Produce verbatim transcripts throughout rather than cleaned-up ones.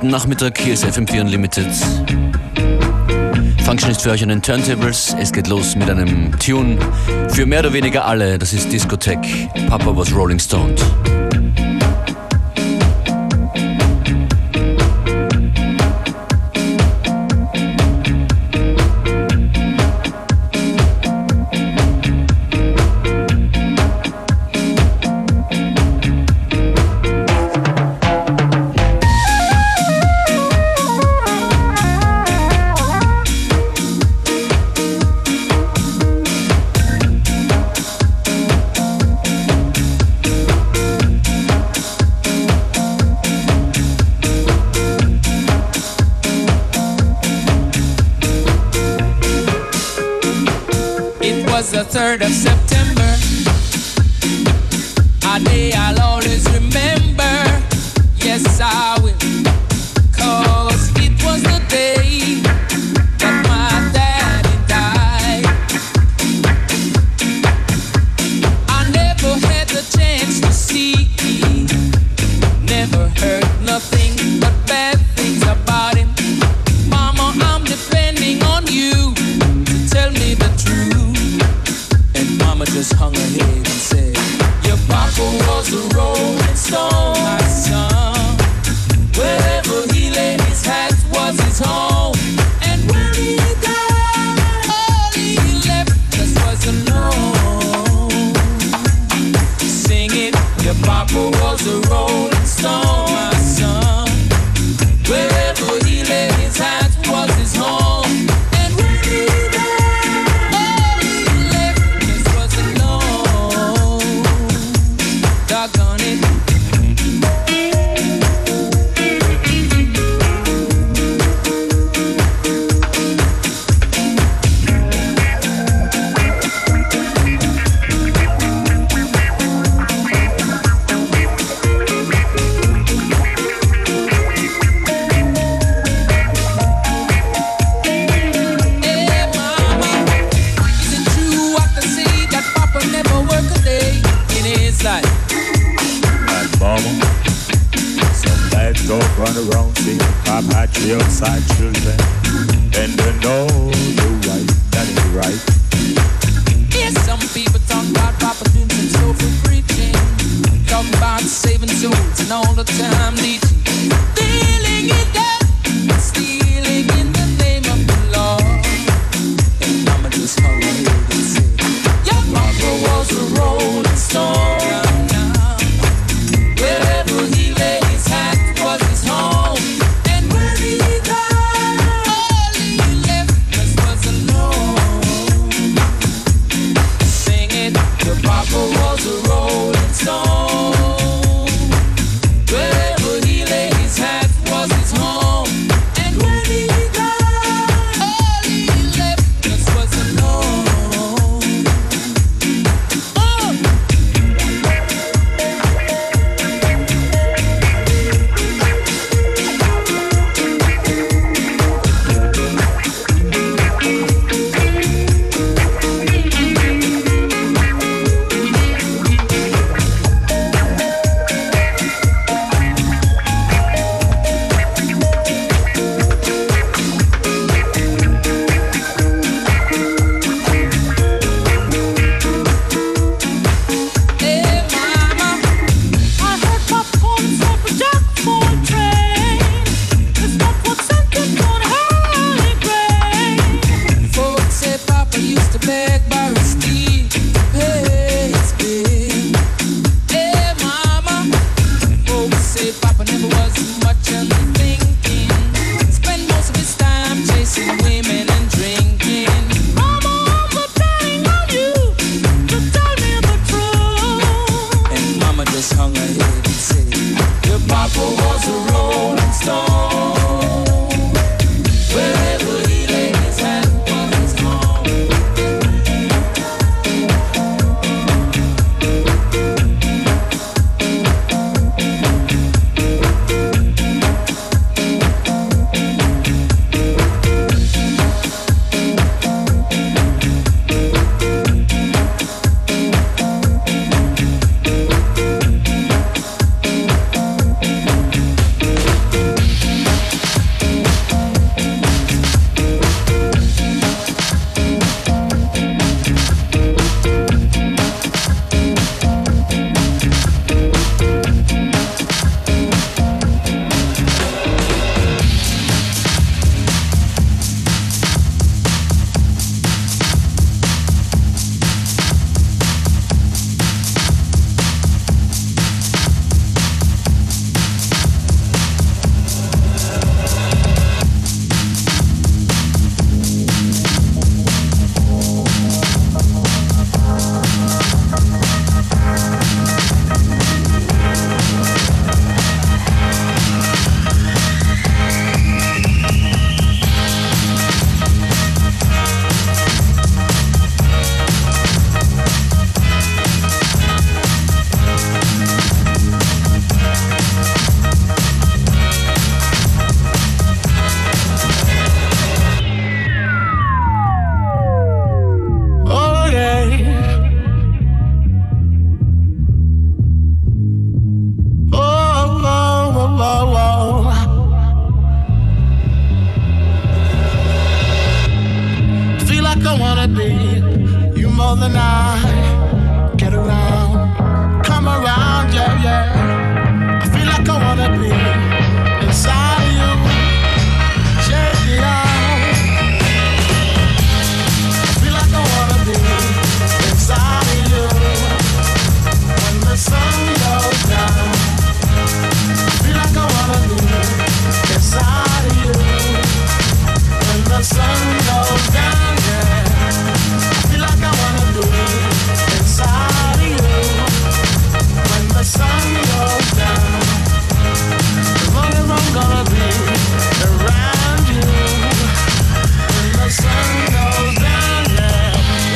späten Nachmittag, hier ist F M vier Unlimited. Functionist für euch an den Turntables. Es geht los mit einem Tune für mehr oder weniger alle. Das ist Discotheque. Papa was Rolling Stoned. The third of September, a day I'll always remember. Yes, I will, 'cause it was the day that my daddy died. I never had the chance to see, never heard nothing but bad things about him. Mama, I'm depending on you to tell me the truth. Mama just hung her head and said, your papa was a rolling stone, my son. Wherever he laid his hat was his home. And when he died, all he left us was alone. Sing it, your papa was a rolling stone, my son. Wherever he laid his hat was his home. And when he died, all he left doggone it. Hey mama, is it true what they say that Papa never work a day in his life? Mama, some bad dog run around saying Pop had three outside children, and they know the right, that ain't right. Yes, some people talk about Papa doing some soulful preaching, talking about saving souls and all the time teaching, stealing it up, stealing in the name of the Lord. And Mama just hung her head and said, your Papa was a rolling stone. Wherever he lay his hat was his home. And when he died, all he left us was alone. Sing it, your papa was a rolling stone. Wherever he lay his hat was his home. I wanna be you more than I. Get around, come around, yeah, yeah. I feel like I wanna be inside of you. Shake it out. I feel like I wanna be inside of you. When the sun goes down, I feel like I wanna be inside of you. When the sun goes down, yeah, I feel like I wanna be inside of you. When the sun goes down, as long as I'm gonna be around you. When the sun goes down, yeah.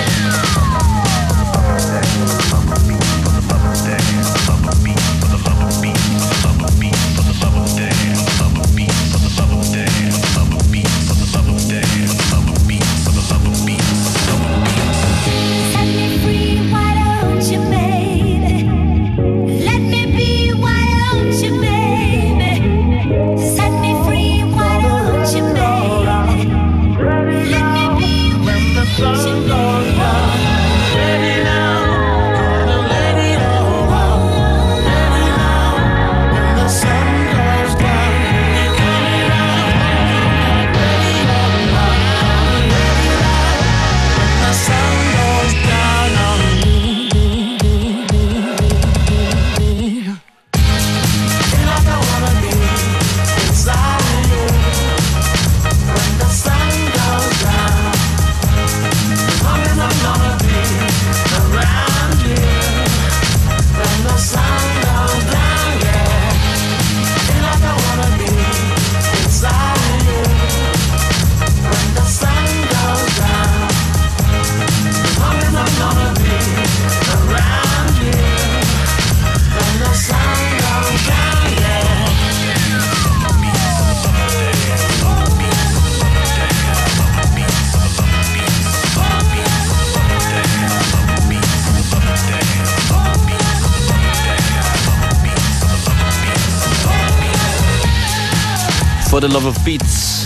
For the Love of Beats.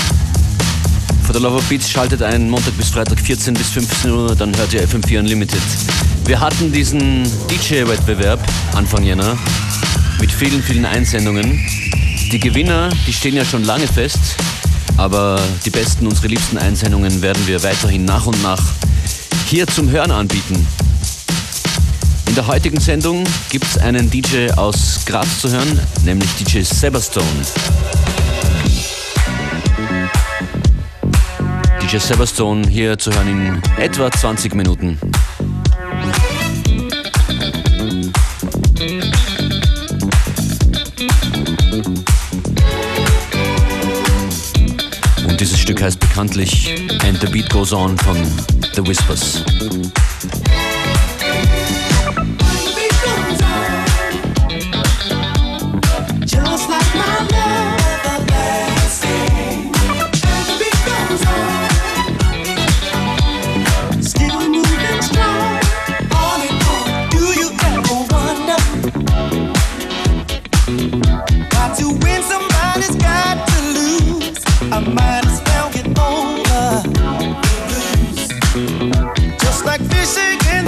For the Love of Beats schaltet ein Montag bis Freitag vierzehn bis fünfzehn Uhr, dann hört ihr F M vier Unlimited. Wir hatten diesen D J-Wettbewerb Anfang Jänner mit vielen, vielen Einsendungen. Die Gewinner, die stehen ja schon lange fest, aber die besten, unsere liebsten Einsendungen werden wir weiterhin nach und nach hier zum Hören anbieten. In der heutigen Sendung gibt es einen D J aus Graz zu hören, nämlich D J Severstone. D J Severstone hier zu hören in etwa zwanzig Minuten. Und dieses Stück heißt bekanntlich And the Beat Goes On von The Whispers. Just like fishing in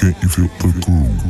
make you feel the groove.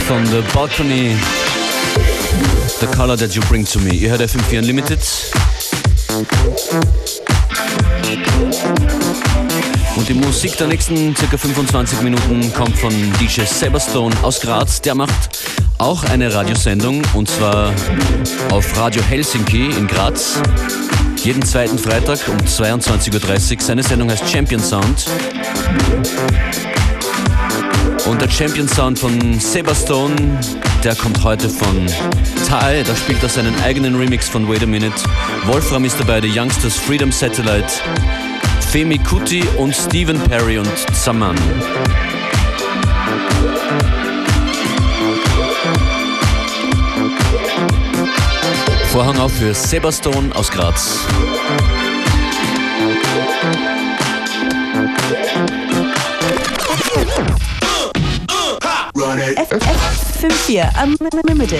von The Balcony, The Color That You Bring To Me. Ihr hört F M vier Unlimited. Und die Musik der nächsten ca. fünfundzwanzig Minuten kommt von D J Seberstone aus Graz. Der macht auch eine Radiosendung, und zwar auf Radio Helsinki in Graz. Jeden zweiten Freitag um zweiundzwanzig Uhr dreißig. Seine Sendung heißt Champion Sound. Und der Champion Sound von Seberstone, der kommt heute von Tae. Da spielt er seinen eigenen Remix von Wait a Minute. Wolfram ist dabei, die Youngsters, Freedom Satellite, Femi Kuti und Stephen Perry und Zaman. Vorhang auf für Seberstone aus Graz. F M vier Unlimited.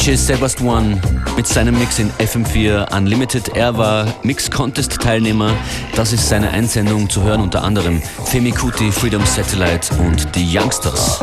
J Sebastian mit seinem Mix in F M vier Unlimited. Er war Mix-Contest-Teilnehmer. Das ist seine Einsendung zu hören, unter anderem Femi Kuti, Freedom Satellite und die Youngsters.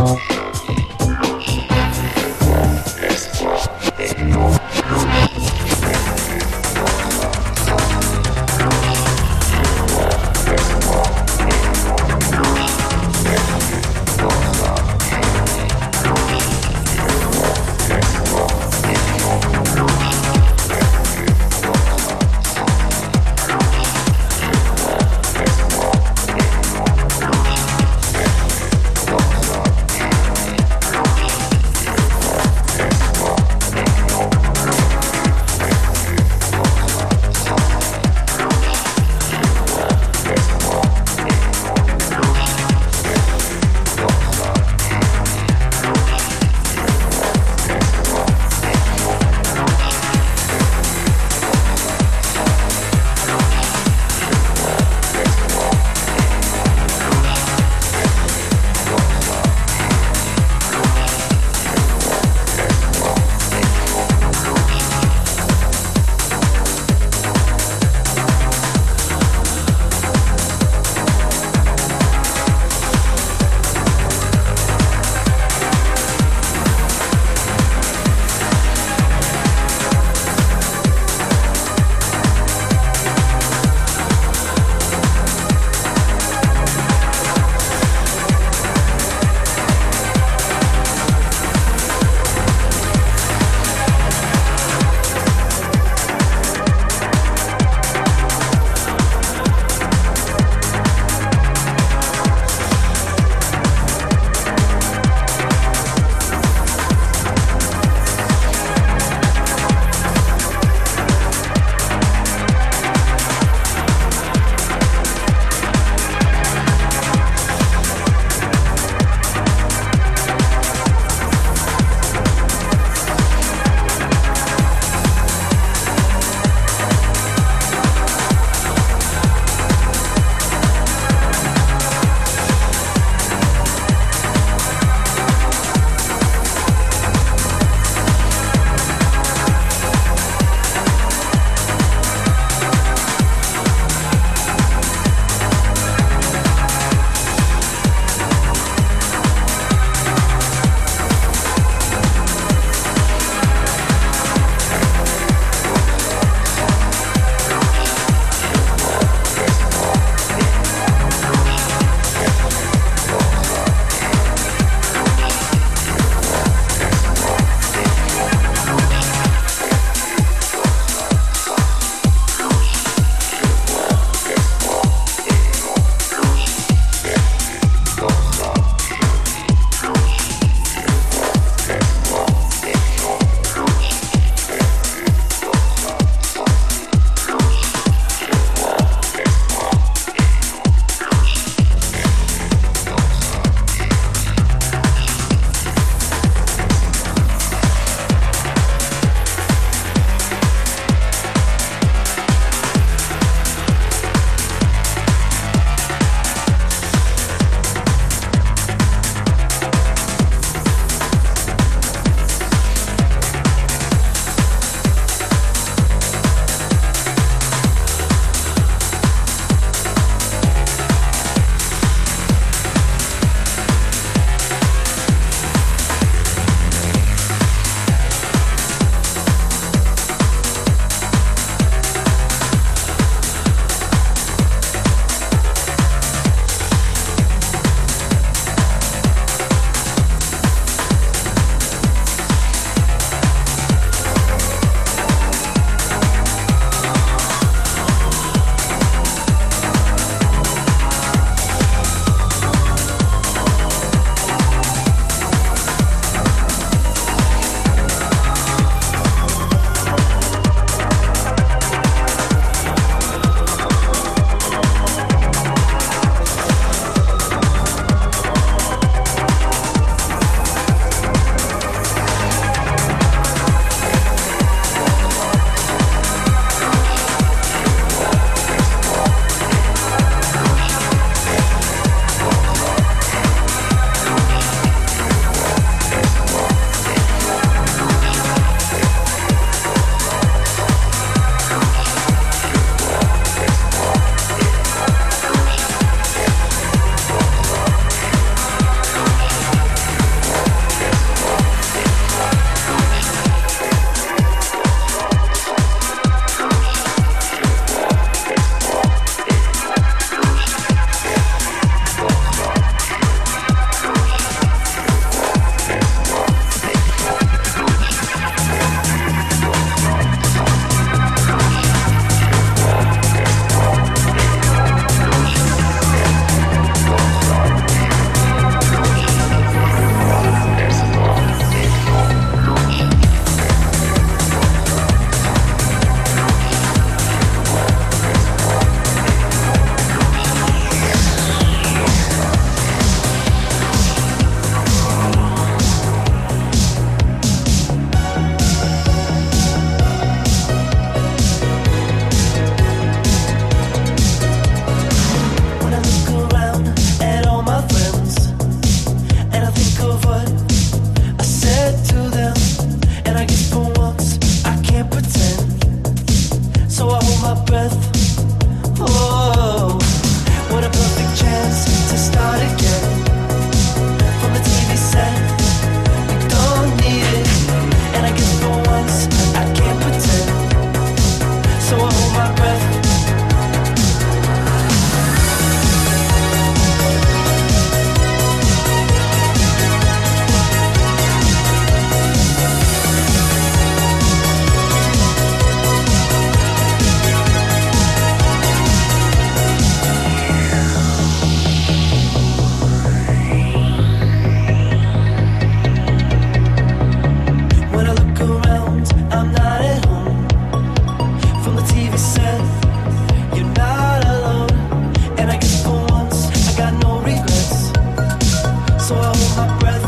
so I hold my breath.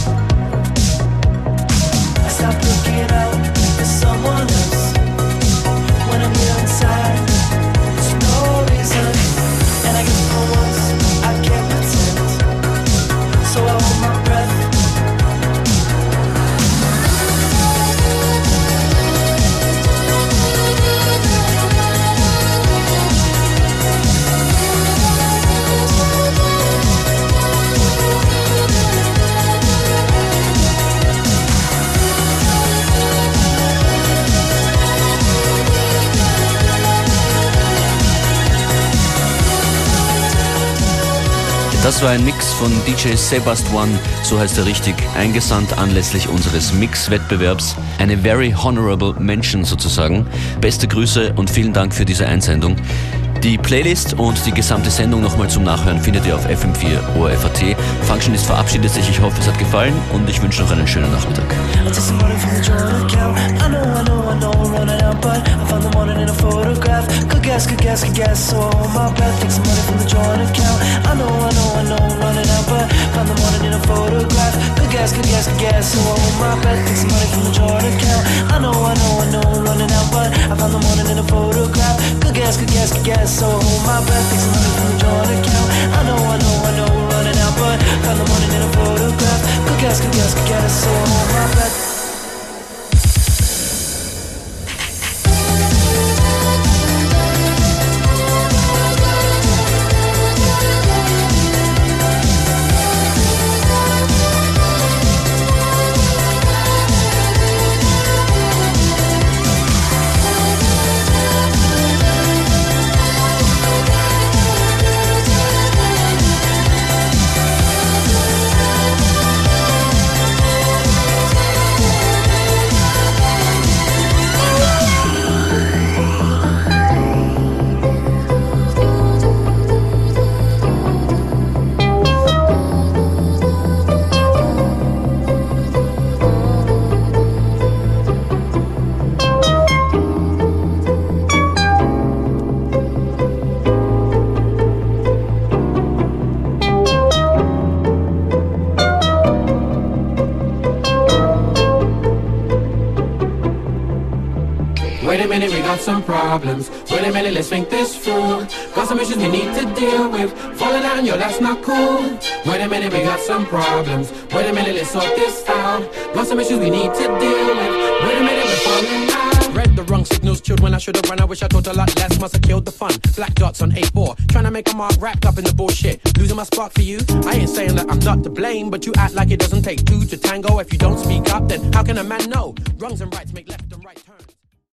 I stop looking out for someone else. When I'm here inside, there's no reason, and I guess for once I can't pretend. So I hold my breath. Das war ein Mix von D J Sebast One, so heißt er richtig, eingesandt anlässlich unseres Mix-Wettbewerbs. Eine very honorable mention sozusagen. Beste Grüße und vielen Dank für diese Einsendung. Die Playlist und die gesamte Sendung nochmal zum Nachhören findet ihr auf F M vier O R F A T. Functionist verabschiedet sich, ich hoffe es hat gefallen und ich wünsche noch einen schönen Nachmittag. Guess, good guess, good guess, so hold my breath. Take some money from the joint account. I know, I know, I know, I'm running out, but found the money in a photograph. Good guess, good guess, good guess, so hold my breath. Take some money from the joint account. I know, I know, I know, I'm running out, but I found the money in a photograph. Good guess, good guess, good guess, so hold my breath. Take some money from the joint account. I know, I know, I know, I'm running out, but found the money in a photograph. Good guess, good guess, good guess, so hold my breath. Some problems. Wait a minute, let's think this through. Got some issues we need to deal with. Falling out on yo, that's not cool. Wait a minute, we got some problems. Wait a minute, let's sort this out. Got some issues we need to deal with. Wait a minute, we're falling out. Read the wrong signals, chilled when I should have run. I wish I thought a lot less, must have killed the fun. Black dots on A four, trying to make a mark wrapped up in the bullshit. Losing my spark for you. I ain't saying that I'm not to blame, but you act like it doesn't take two to tango. If you don't speak up, then how can a man know? Wrongs and rights make left and right.